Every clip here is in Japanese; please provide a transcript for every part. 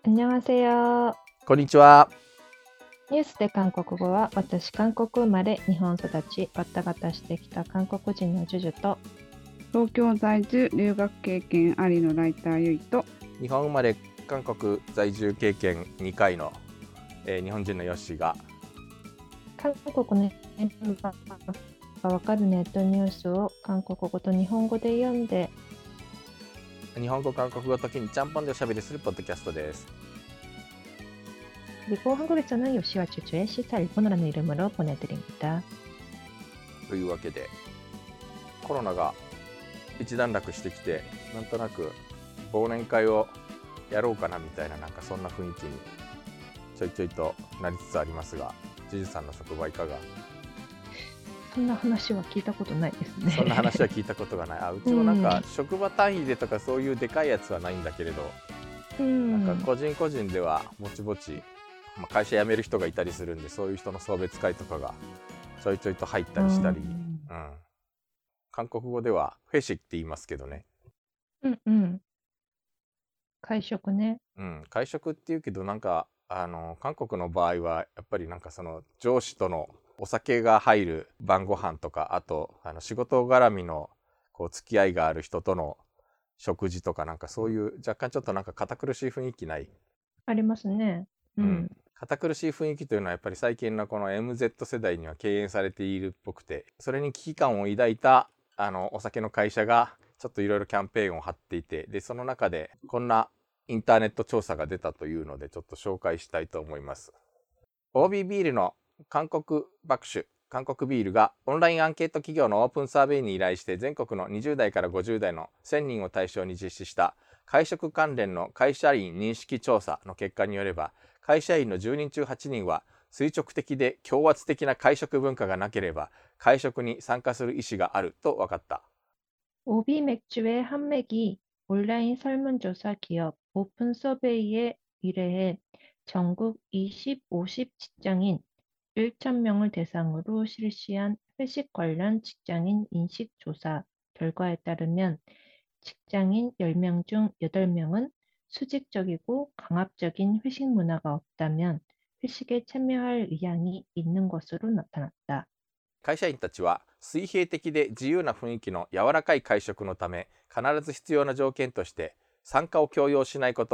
안녕하세요。 こんにちは。 ニュースで韓国語は、私、韓国生まれ、日本育ち、わたがたしてきた韓国人のジュジュと、 東京在住留学経験ありのライターゆいと、 日本生まれ韓国在住経験2回の、日本人のヨッシーが韓国のメンバーがわかるネットニュースを韓国語と日本語で読んで、 日本語韓国語時にちゃんぽんでおしゃべりするポッドキャストです。 그리고 한국에서는 요시와 주주의 시사 일본어라는 이름으로 보내드립니다. というわけでコロナが一段落してきて、なんとなく忘年会をやろうかなみたいな、なんかそんな雰囲気にちょいちょいとなりつつありますが、ジュジュさんの職場いかが？ そんな話は聞いたことないですね。 そんな話は聞いたことがない。うちもなんか職場単位でとかそういうでかいやつはないんだけれど、なんか個人個人ではぼちぼち、会社辞める人がいたりするんで、そういう人の送別会とかがちょいちょいと入ったりしたり、韓国語ではフェシって言いますけどね。 会食ね。 会食って言うけど、なんか韓国の場合はやっぱりなんかその上司とのお酒が入る晩ご飯とか、あと仕事絡みのこう付き合いがある人との食事とか、なんかそういう若干ちょっとなんか堅苦しい雰囲気ない？ ありますね。 堅苦しい雰囲気というのはやっぱり最近のこの MZ 世代には敬遠されているっぽくて、それに危機感を抱いたお酒の会社がちょっといろいろキャンペーンを張っていて、でその中でこんなインターネット調査が出たというので、ちょっと紹介したいと思います。OB ビールの韓国爆酒韓国ビールがオンラインアンケート企業のオープンサーベイに依頼して、全国の20代から50代の1000人を対象に実施した会食関連の会社員認識調査の結果によれば、会社員の10人中8人は垂直的で強圧的な会食文化がなければ会食に参加する意思があると分かった。 오비 맥주의 한 맥이 온라인 설문조사 기업 오픈 서베이에 의뢰해 전국 20, 50 직장인 1,000명을 대상으로 실시한 회식 관련 직장인 인식 조사 결과에 따르면, 직장인 10명 중 8명은 수직적이고 강압적인 회식 문화가 없다면 회식에 참여할 의향이 있는 것으로 나타났다. 会社員たちは水平的で自由な雰囲気の柔らかい会食のため、必ず必要な条件として参加を強要しないこと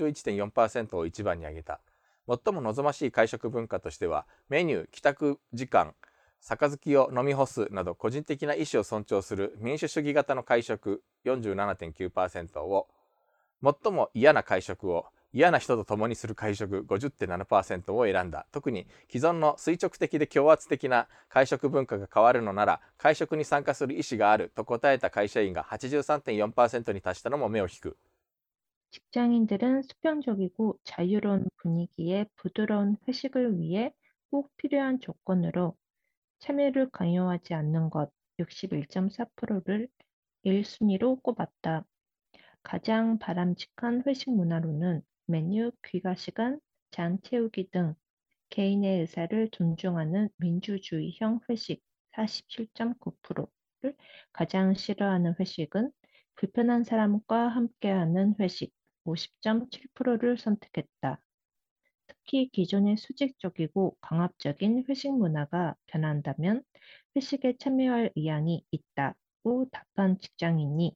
61.4% を一番に挙げた。最も望ましい会食文化としては、メニュー、帰宅時間、杯を飲み干すなど個人的な意思を尊重する民主主義型の会食 47.9% を、最も嫌な会食を嫌な人と共にする会食 50.7% を選んだ。特に既存の垂直的で強圧的な会食文化が変わるのなら会食に参加する意思があると答えた会社員が 83.4% に達したのも目を引く。 직장인들은 수평적이고 자유로운 분위기의 부드러운 회식을 위해 꼭 필요한 조건으로 참여를 강요하지 않는 것 61.4%를 1순위로 꼽았다. 가장 바람직한 회식 문화로는 메뉴, 귀가 시간, 잔 채우기 등 개인의 의사를 존중하는 민주주의형 회식 47.9%를, 가장 싫어하는 회식은 불편한 사람과 함께하는 회식 50.7%를 선택했다. 특히 기존의 수직적이고 강압적인 회식 문화가 변한다면 회식에 참여할 의향이 있다고 답한 직장인이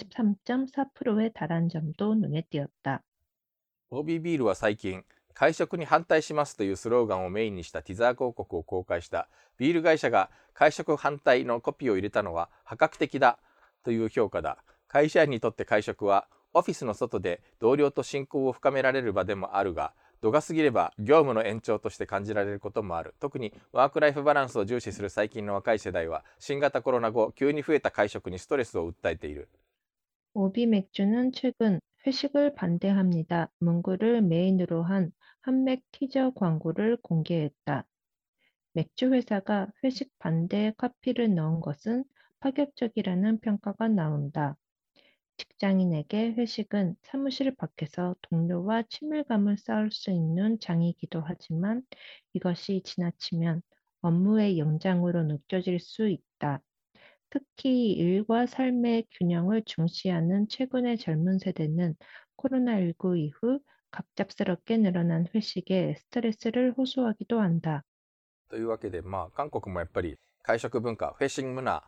83.4%에 달한 점도 눈에 띄었다. OB ビールは最近、会食に反対しますというスローガンをメインにしたティザー広告を公開した。ビール会社が会食反対のコピーを入れたのは破格的だという評価だ。会社員にとって会食はオフィスの外で同僚と親交を深められる場でもあるが、度が過ぎれば業務の延長として感じられることもある。特にワークライフバランスを重視する最近の若い世代は、新型コロナ後急に増えた会食にストレスを訴えている。 오비 맥주는 최근 회식을 반대합니다 문구를 메인으로 한 한맥 티저 광고를 공개했다. 맥주 회사가 회식 반대에 카피를 넣은 것은 파격적이라는 평가가 나온다. 직장인에게 회식은 사무실 밖에서 동료와 친밀감을 쌓을 수 있는 장이기도 하지만, 이것이 지나치면 업무의 연장으로 느껴질 수 있다. 특히 일과 삶의 균형을 중시하는 최근의 젊은 세대는 코로나19 이후 갑작스럽게 늘어난 회식에 스트레스를 호소하기도 한다. というわけで、韓国もやっぱり会食文化、フェッシング문화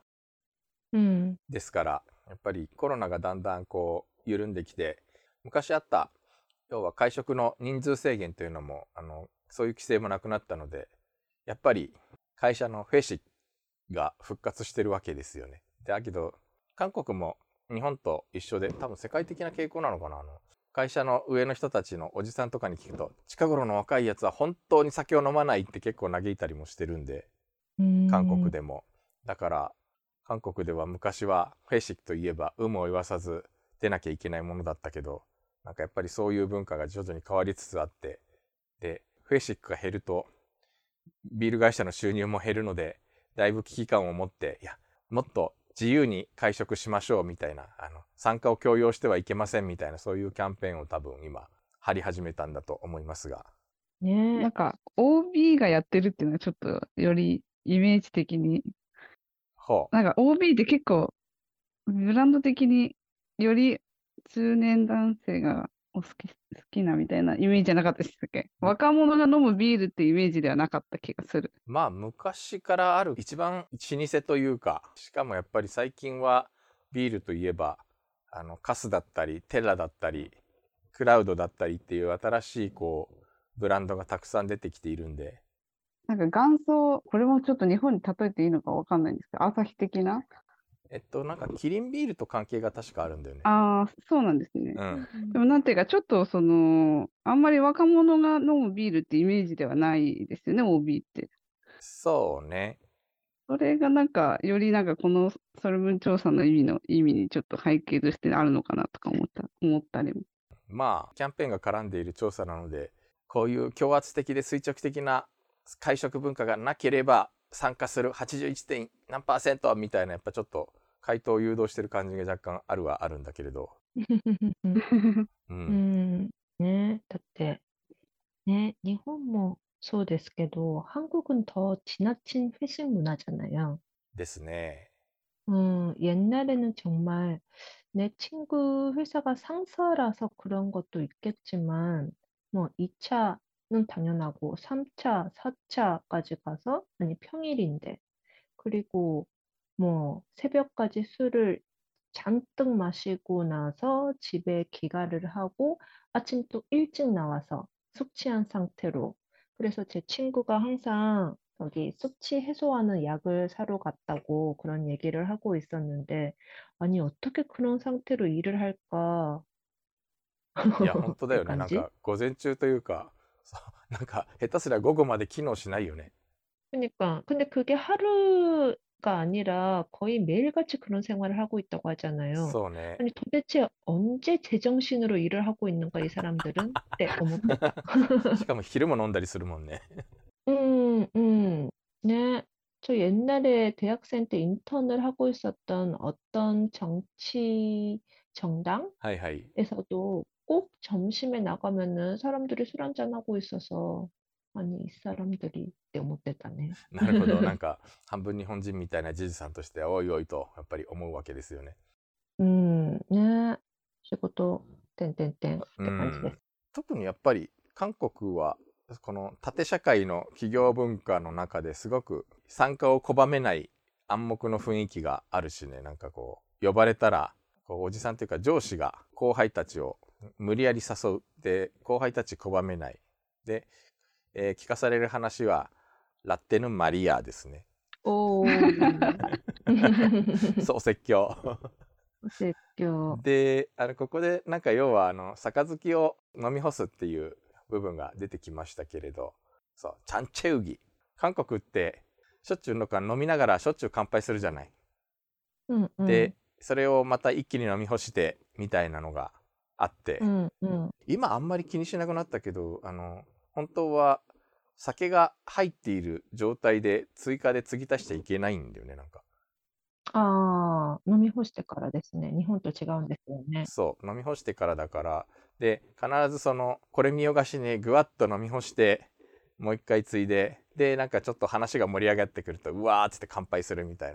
음, ですから、やっぱりコロナがだんだんこう緩んできて、昔あった要は会食の人数制限というのもそういう規制もなくなったので、やっぱり会社のフェシが復活してるわけですよね。だけど韓国も日本と一緒で、多分世界的な傾向なのかな。会社の上の人たちのおじさんとかに聞くと、近頃の若いやつは本当に酒を飲まないって結構嘆いたりもしてるんで、韓国でも。だから韓国では昔はフェシックといえば有無を言わさず出なきゃいけないものだったけど、なんかやっぱりそういう文化が徐々に変わりつつあって、でフェシックが減るとビール会社の収入も減るので、だいぶ危機感を持って、いやもっと自由に会食しましょうみたいな、参加を強要してはいけませんみたいな、そういうキャンペーンを多分今張り始めたんだと思いますが。 なんか OB がやってるっていうのはちょっとよりイメージ的に、 ほう。 なんか OB って結構ブランド的により中年男性が好きなみたいなイメージじゃなかったでしたっけ？若者が飲むビールってイメージではなかった気がする。 昔からある一番老舗というか、しかもやっぱり最近はビールといえばカスだったりテラだったりクラウドだったりっていう新しいこうブランドがたくさん出てきているんで、 なんか元祖、これもちょっと日本に例えていいのかわかんないんですけど、アサヒ的な。 なんかキリンビールと関係が確かあるんだよね。 ああ、そうなんですね。 うん。 でもなんていうか、ちょっとあんまり若者が飲むビールってイメージではないですよね、OB って。 そうね。 それがなんか、よりなんかこのソルブン調査の意味にちょっと背景としてあるのかなとか思ったりも。 キャンペーンが絡んでいる調査なので、こういう強圧的で垂直的な会食文化がなければ参加する 81. 点何%みたいな、やっぱちょっと回答を誘導してる感じが若干あるはあるんだけれど、 ね、だってね、日本もそうですけど、한국은 더 지나친 회식 문화잖아요. ですね。 옛날에는 정말 내 친구 회사가 상사라서 그런 것도 있겠지만, 뭐 2차는 당연하고 3차, 4차까지 가서, 아니 평일인데, 그리고 뭐 새벽까지 술을 잔뜩 마시고 나서 집에 귀가를 하고 아침 또 일찍 나와서 숙취한 상태로. 그래서 제 친구가 항상 여기 숙취 해소하는 약을 사러 갔다고 그런 얘기를 하고 있었는데, 아니, 어떻게 그런 상태로 일을 할까? いや本当だってよね。 感じ。 なんか午前中というか、なんか下手すりゃ午後まで機能しないよね。 그러니까 근데 그게 하루가 아니라 거의 매일같이 그런 생활을 하고 있다고 하잖아요. そうね。 아니 도대체 언제 제정신으로 일을 하고 있는가 이 사람들은? 때 어묵됐다. しかも昼も飲んだりするもんね。 음, 음, 네. 저 옛날에 대학생 때 인턴을 하고 있었던 어떤 정치 정당에서도 はいはい。 꼭 점심에 나가면은 사람들이 술 한잔 하고 있어서, 아니 이 사람들이 때 못됐다네. なるほど。なんか半分日本人みたいなじじさんとしておいおいとやっぱり思うわけですよね。 ね。仕事、てんてんてんっうて感じでん。 す。 特にやっぱり韓国はこの縦社会の企業文化の中ですごく参加を拒めない暗黙の雰囲気があるしね。なんかこう呼ばれたらこうおじさんというか上司が後輩たちを無理やり誘う。で後輩たち拒めない。で、聞かされる話はラッテヌマリアですね。 おー。 そう説教。 説教。 でここでなんか要は杯を飲み干すっていう部分が出てきましたけれど、そうチャンチェウギ、韓国ってしょっちゅう飲みながらしょっちゅう乾杯するじゃない。でそれをまた一気に飲み干してみたいなのがあって、今あんまり気にしなくなったけど、本当は酒が入っている状態で追加で継ぎ足しちゃいけないんだよね。なんか飲み干してからですね。日本と違うんですよね。 そう飲み干してからだから、で必ずこれ見よがしにぐわっと飲み干してもう一回継いで、でなんかちょっと話が盛り上がってくるとうわーっつって乾杯するみたいな。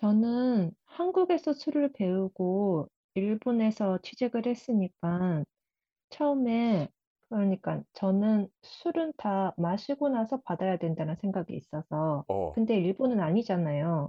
저는 한국에서 술을 배우고 일본에서 취직을 했으니까 처음에 그러니까 저는 술은 다 마시고 나서 받아야 된다는 생각이 있어서 お 근데 일본은 아니잖아요.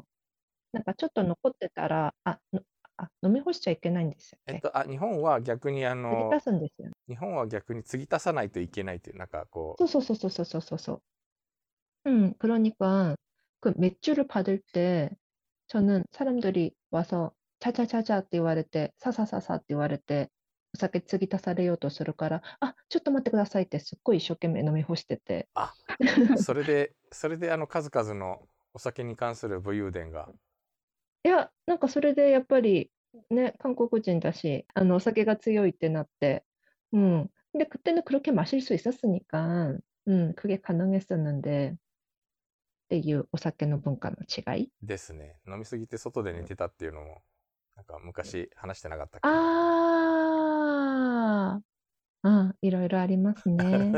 なんかちょっと残ってたら、飲み干しちゃいけないんですよっけ？ 日本は逆に継ぎ足すんですよね。 日本は逆に継ぎ足さないといけないっていう、なんかこそうそうそうそうそうそうそう。그러니까 그 맥주를 받을 때 저는 사람들이 와서 자자자자 って言われてささささって言われてお酒継ぎ足されようとするから、ちょっと待ってくださいってすっごい一生懸命飲み干してて。 う、それで、数々のお酒に関する武勇伝が。 いや、なんかそれでやっぱりね、韓国人だし、お酒が強いってなって、근데 그때는 그렇게 마실 수 있었으니까, 그게 가능했었는데, っていうお酒の文化の違い。 ですね。飲みすぎて外で寝てたっていうのも、なんか昔話してなかったっけ？ あいろいろありますね。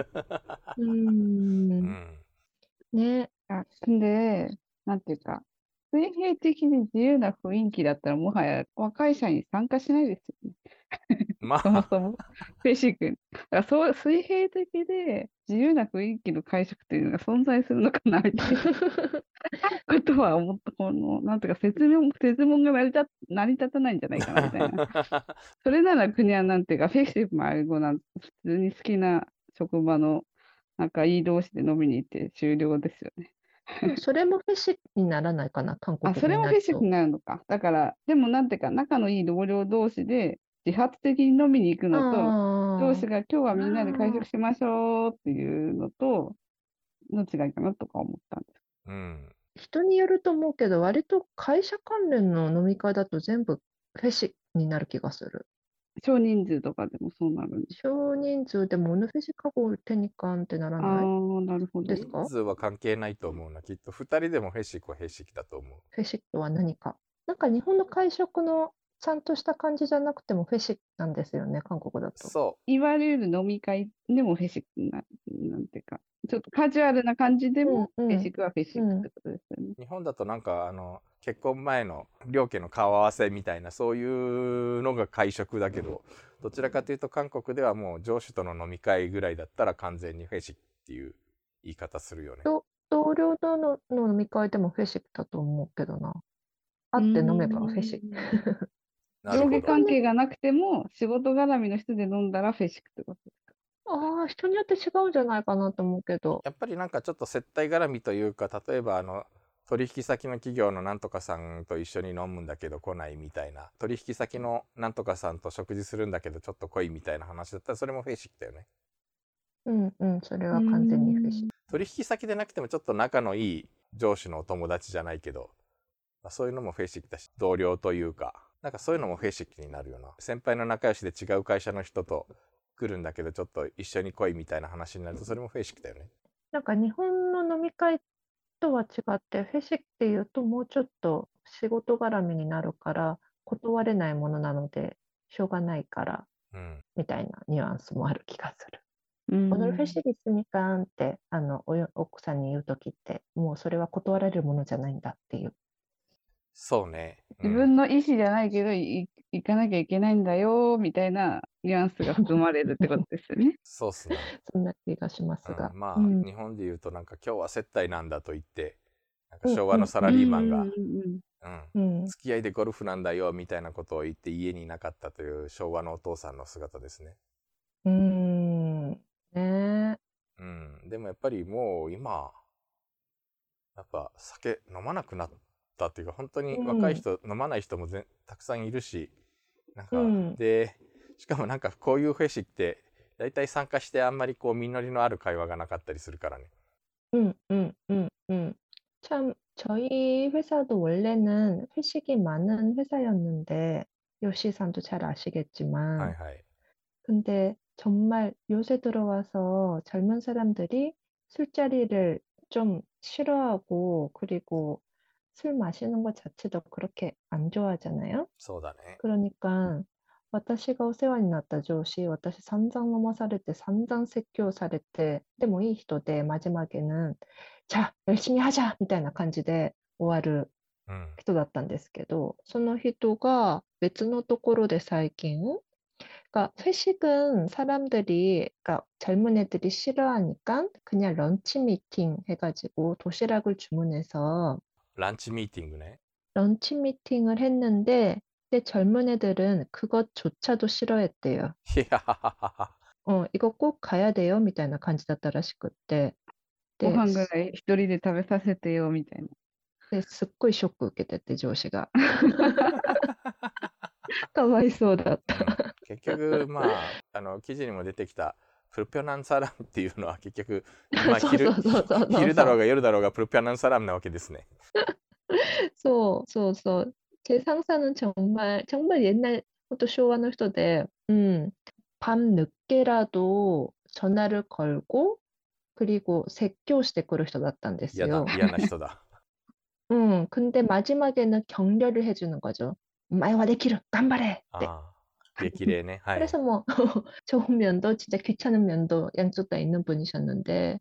ね。 근데, なんていうか、水平的に自由な雰囲気だったら、もはや若い社に参加しないですよね。 まそもあ、 そも、ベーシックに。だからそう、水平的で自由な雰囲気の会食というのが存在するのかな、みたいなことは思った、なんていうか、説問が成り立たないんじゃないかな、みたいな。それなら国はなんていうか、フェイシブルも普通に好きな職場の仲いい同士で飲みに行って終了ですよね。 でもそれもフェシにならないかな、韓国そ語れもフェイシブルになると。 になるのか。だから、でもなんていうか、仲のいい同僚同士で自発的に飲みに行くのと、上司あが今日はみんなで会食しましょうっていうのと、の違いかなとか思ったんです。 うん。 人によると思うけど、割と会社関連の飲み会だと全部フェシになる気がする。 少人数とかでもそうなるんです。 少人数でもオヌフェシカゴテニカンってならないなるほど。 ですか？ 人数は関係ないと思うな。きっと2人でもフェシックはフェシックだと思う。 フェシックは何か。なんか日本の会食のちゃんとした感じじゃなくてもフェシックなんですよね、韓国だと。 そいわゆる飲み会でもフェシックなんていうか、ちょっとカジュアルな感じでも、フェシックはフェシックってことですよね。 う。日本だとなんか結婚前の両家の顔合わせみたいなそういうのが会食だけど、どちらかというと韓国ではもう上司との飲み会ぐらいだったら完全にフェシックっていう言い方するよね。 同僚との飲み会でもフェシックだと思うけどな。会って飲めばフェシック。 上下関係がなくても、仕事絡みの人で飲んだらフェシックってことですか？ 人によって違うんじゃないかなと思うけど。 やっぱりなんかちょっと接待絡みというか、例えば取引先の企業のなんとかさんと一緒に飲むんだけど来ないみたいな、取引先のなんとかさんと食事するんだけどちょっと来いみたいな話だったらそれもフェシックだよね。 それは完全にフェシック。 取引先でなくてもちょっと仲のいい上司のお友達じゃないけど、そういうのもフェシックだし、同僚というか、なんかそういうのもフェシックになるよな。先輩の仲良しで違う会社の人と来るんだけどちょっと一緒に来いみたいな話になるとそれもフェシックだよね。 なんか日本の飲み会とは違ってフェシックっていうともうちょっと仕事絡みになるから断れないものなのでしょうがないからみたいなニュアンスもある気がする。오늘 회식있으니까って奥さんに言うときってもうそれは断られるものじゃないんだっていう。 そうね。 自分の意思じゃないけど行かなきゃいけないんだよみたいなニュアンスが含まれるってことですよね。 そうっすね。 そんな気がしますが。 まあ、日本で言うとなんか今日は接待なんだと言って、なんか昭和のサラリーマンが、付き合いでゴルフなんだよみたいなことを言って家にいなかったという昭和のお父さんの姿ですね。でもやっぱりもう今やっぱ酒飲まなくなったっていうか、本当に若い人、飲まない人もたくさんいるし、なんか、でしかもなんかこういうフェシってだいたい参加してあんまりこう実りのある会話がなかったりするからね。 참 저희 회사도 원래는 회식이 많은 회사였는데 요시상도 잘 아시겠지만 근데 정말 요새 들어와서 젊은 사람들이 술자리를 좀 싫어하고 그리고 술 마시는 것 자체도 그렇게 안 좋아하잖아요. そうだね。 그러니까 私がお世話になった上司、私散々飲まされて散々説教されて、でもいい人で마지막에는 자, 열심히 하자! みたいな感じで終わる人だったんですけど、その人が別のところで最近 그러니까 회식은 사람들이, 그러니까 젊은 애들이 싫어하니까 그냥 런치 미팅 해가지고 도시락을 주문해서 ランチミーティングね。 런치 미팅을 했는데, 근데 젊은 애들은 그것조차도 싫어했대요. いやはははは。 이거 꼭 가야 돼요? みたいな感じだったらしくって。 ごで、 飯ぐらい一人で食べさせてよ、みたいな。 すっごいショック受けてて、上司が。かわいそうだった。 結局まあ記事にも出てきたプルピョナンサラムっていうのは結局、まあ、 そうそうそうそうそう。 昼だろうが夜だろうがプルピョナンサラムなわけですね。 そうそうそう。제 상사는 정말 옛날 것도 쇼와의 人で, 밤 늦게라도 전화를 걸고, 그리고説教してくる人だったんですよ。 嫌な人だ。 근데 마지막에는 격려를 해주는 거죠. お前はできる! 頑張れ! って. ああ、激励ね。はい。 그래서 뭐 좋은 면도 진짜 귀찮은 면도 양쪽 다 있는 분이셨는데,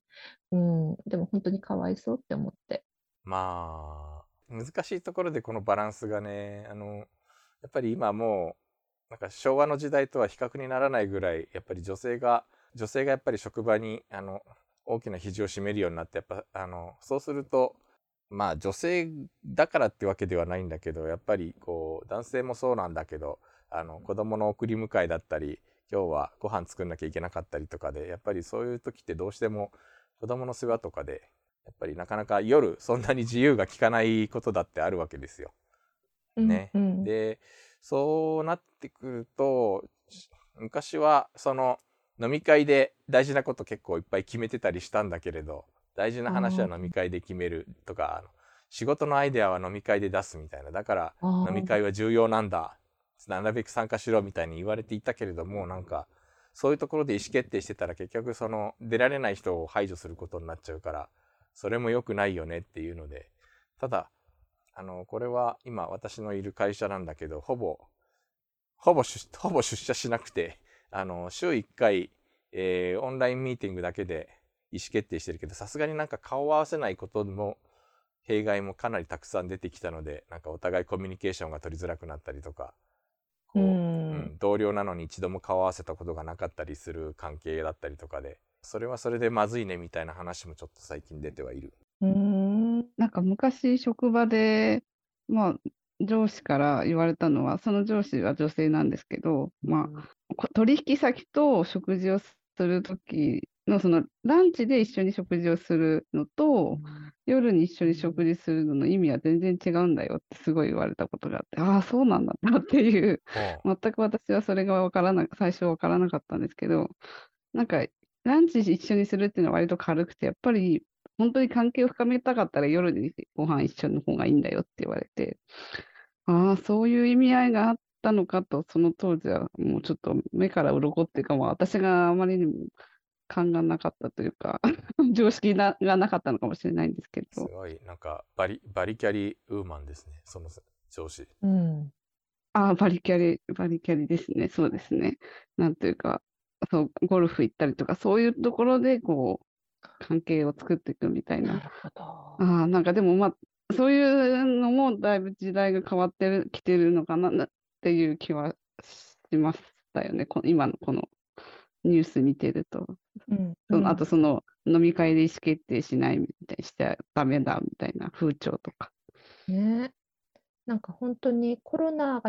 근데 뭐本当に かわいそうって思って。 まあ難しいところでこのバランスがね、やっぱり今もうなんか昭和の時代とは比較にならないぐらい、やっぱり女性がやっぱり職場に大きな比重を占めるようになって、やっぱそうすると、まあ女性だからってわけではないんだけど、やっぱりこう男性もそうなんだけど、子供の送り迎えだったり、今日はご飯作んなきゃいけなかったりとかで、やっぱりそういう時ってどうしても子供の世話とかでやっぱりなかなか夜そんなに自由が利かないことだってあるわけですよ。ね。でそうなってくると、昔はその飲み会で大事なこと結構いっぱい決めてたりしたんだけれど、大事な話は飲み会で決めるとか、仕事のアイデアは飲み会で出すみたいな、だから飲み会は重要なんだ、なるべく参加しろみたいに言われていたけれども、なんかそういうところで意思決定してたら結局その出られない人を排除することになっちゃうから、それも良くないよねっていうので、ただこれは今私のいる会社なんだけど、ほぼ出社しなくて、週1回、オンラインミーティングだけで意思決定してるけど、さすがになんか顔を合わせないことも弊害もかなりたくさん出てきたので、なんかお互いコミュニケーションが取りづらくなったりとか、こう、同僚なのに一度も顔を合わせたことがなかったりする関係だったりとかで、それはそれでまずいねみたいな話もちょっと最近出てはいる。 なんか昔職場で、まあ、上司から言われたのは、その上司は女性なんですけど、まあ、取引先と食事をするときの、そのランチで一緒に食事をするのと、夜に一緒に食事するのの意味は全然違うんだよってすごい言われたことがあって、ああ、そうなんだなっていう、全く私はそれが最初分からなかったんですけど、なんか、ランチ一緒にするっていうのは割と軽くて、やっぱり本当に関係を深めたかったら夜にご飯一緒の方がいいんだよって言われて、ああ、そういう意味合いがあったのかと、その当時はもうちょっと目から鱗っていうか、もう私があまりにも勘がなかったというか、常識がなかったのかもしれないんですけど。 すごい、なんかバリキャリウーマンですね、その上司。 ああ、バリキャリですね、そうですね。なんというか、そう、ゴルフ行ったりとか、そういうところで、こう、関係を作っていくみたいな。なんかでもまあ、そういうのもだいぶ時代が変わってきてるのかなっていう気はしましたよね。今のこのニュース見てると。あとその飲み会で意思決定しないみたいにしちゃダメだみたいな風潮とか。 ね。なんか本当に코로나가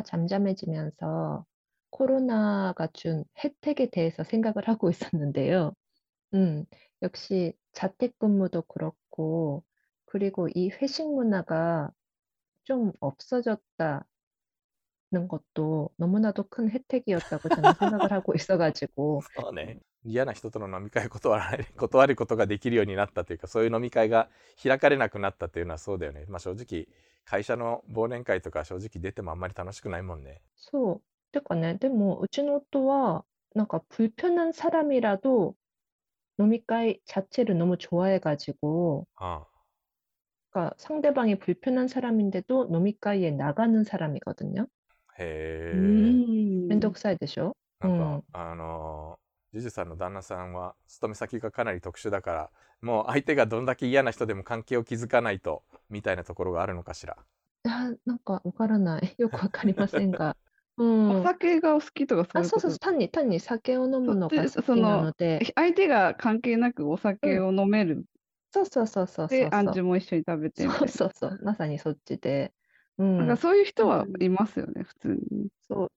잠잠해지면서 코로나가 준 혜택에 대해서 생각을 하고 있었는데요. 역시 자택근무도 그렇고, 그리고 이 회식 문화가 좀 없어졌다는 것도 너무나도 큰 혜택이었다고 저는 생각을 하고 있어가지고. そうね。嫌な人との飲み会を断ることができるようになったというか、そういう飲み会が開かれなくなったというのはそうだよね。まあ正直会社の忘年会とか正直出てもあんまり楽しくないもんね。 そう。てかね、でもうちの夫はなんか불편한 사람이라도飲み会자체를 너무 좋아해가지고, 그러니까 상대방이 불편한 사람인데도飲み会에 나가는 사람이거든요. へえ。 めんどくさいでしょ。 なんかジュジュさんの旦那さんは勤め先がかなり特殊だから、もう相手がどんだけ嫌な人でも関係を築かないとみたいなところがあるのかしら。 なんかわからない。よくわかりませんが。 お酒がお好きとかそういうそうそう、 こと。 単に酒を飲むのが好そきなの、 ので、 相手が関係なくお酒を飲める。 そうそうそうそうそで、 うそう。 アンジュも一緒に食べてそうみたいな。 そうそう、まさにそっちで。 なんかそういう人はいますよね、普通に。 そう、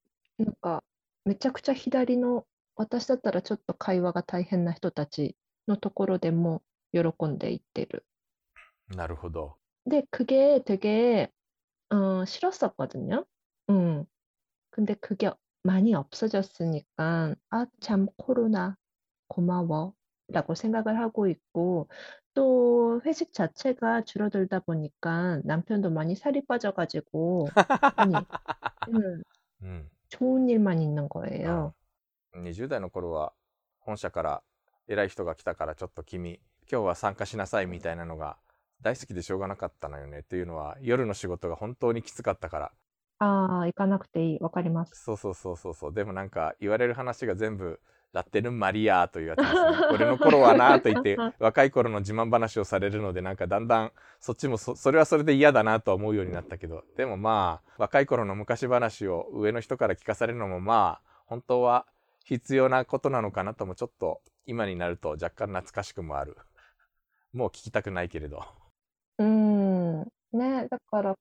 なんか、めちゃくちゃ左の、私だったらちょっと会話が大変な人たちのところでも喜んでいってる。 なるほど。 で, 그게 되게 싫었었거든요. 근데 그게 많이 없어졌으니까, 아, 참, 코로나, 고마워. 라고 생각을 하고 있고, 또 회식 자체가 줄어들다 보니까 남편도 많이 살이 빠져가지고, 아니, 음, うん。 좋은 일만 있는 あ 거예요. 20代の頃は本社から偉い人が来たからちょっと君今日は参加しなさいみたいなのが大好きでしょうがなかったのよねっていうのは夜の仕事が本当にきつかったから。 아, 行かなくていい。わかります。 そうそうそうそうそう。でもなんか言われる話が全部ラッテルンマリアというやつですね。俺の頃はなと言って若い頃の自慢話をされるのでなんかだんだんそっちもそれはそれで嫌だなと思うようになったけど、でもまあ若い頃の昔話を上の人から聞かされるのもまあ本当は必要なことなのかなともちょっと今になると若干懐かしくもある。もう聞きたくないけれど。 네,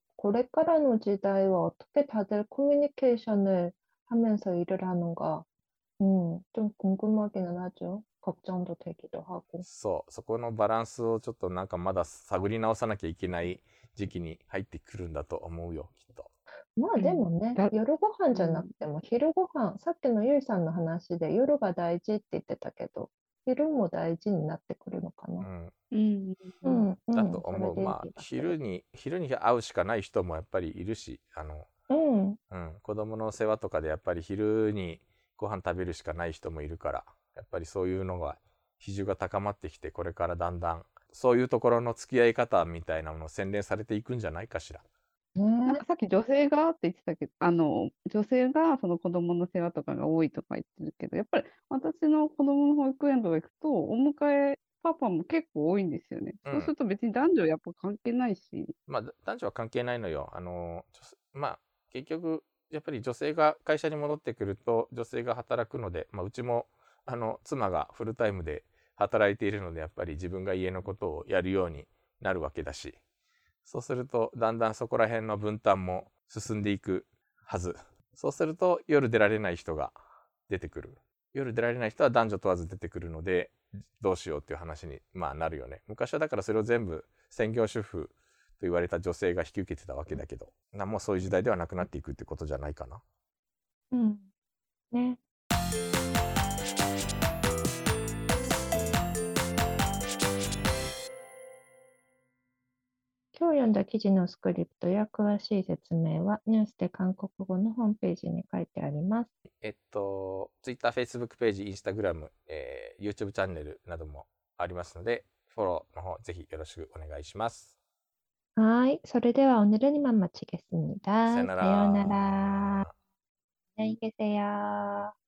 だからこれからの時代は 어떻게 다들 커뮤니케이션을 하면서 일을 하는가, 좀 궁금하기는 하죠. 걱정도 되기도 하고. そこのバランスをちょっとなんかまだ探り直さなきゃいけない時期に入ってくるんだと思うよきっと。 まあでもね、夜ご飯じゃなくても昼ご飯、さっきのゆいさんの話で夜が大事って言ってたけど、昼も大事になってくるのかな。 だと思う。まあ昼に会うしかない人もやっぱりいるし、子供の世話とかでやっぱり昼にご飯食べるしかない人もいるから、やっぱりそういうのが比重が高まってきて、これからだんだんそういうところの付き合い方みたいなものを洗練されていくんじゃないかしら。 なんかさっき女性がって言ってたけど、女性がその子供の世話とかが多いとか言ってるけど、やっぱり私の子供の保育園とか行くと、お迎えパパも結構多いんですよね。そうすると別に男女やっぱ関係ないし。 まあ男女は関係ないのよ。まあ結局やっぱり女性が会社に戻ってくると女性が働くので、まあうちも妻がフルタイムで働いているので、やっぱり自分が家のことをやるようになるわけだし、そうするとだんだんそこら辺の分担も進んでいくはず。そうすると夜出られない人が出てくる。夜出られない人は男女問わず出てくるので、どうしようっていう話にまあなるよね。昔はだからそれを全部専業主婦と言われた女性が引き受けてたわけだけど、もうそういう時代ではなくなっていくってことじゃないかな。 ね。今日読んだ記事のスクリプトや詳しい説明はニュースで韓国語のホームページに書いてあります。 Twitter、Facebook ページ、Instagram、YouTube チャンネルなどもありますので、フォローの方ぜひよろしくお願いします。 はい、それでは오늘은이만마치겠습니다。 さよなら。 さようなら。안녕히 계세요。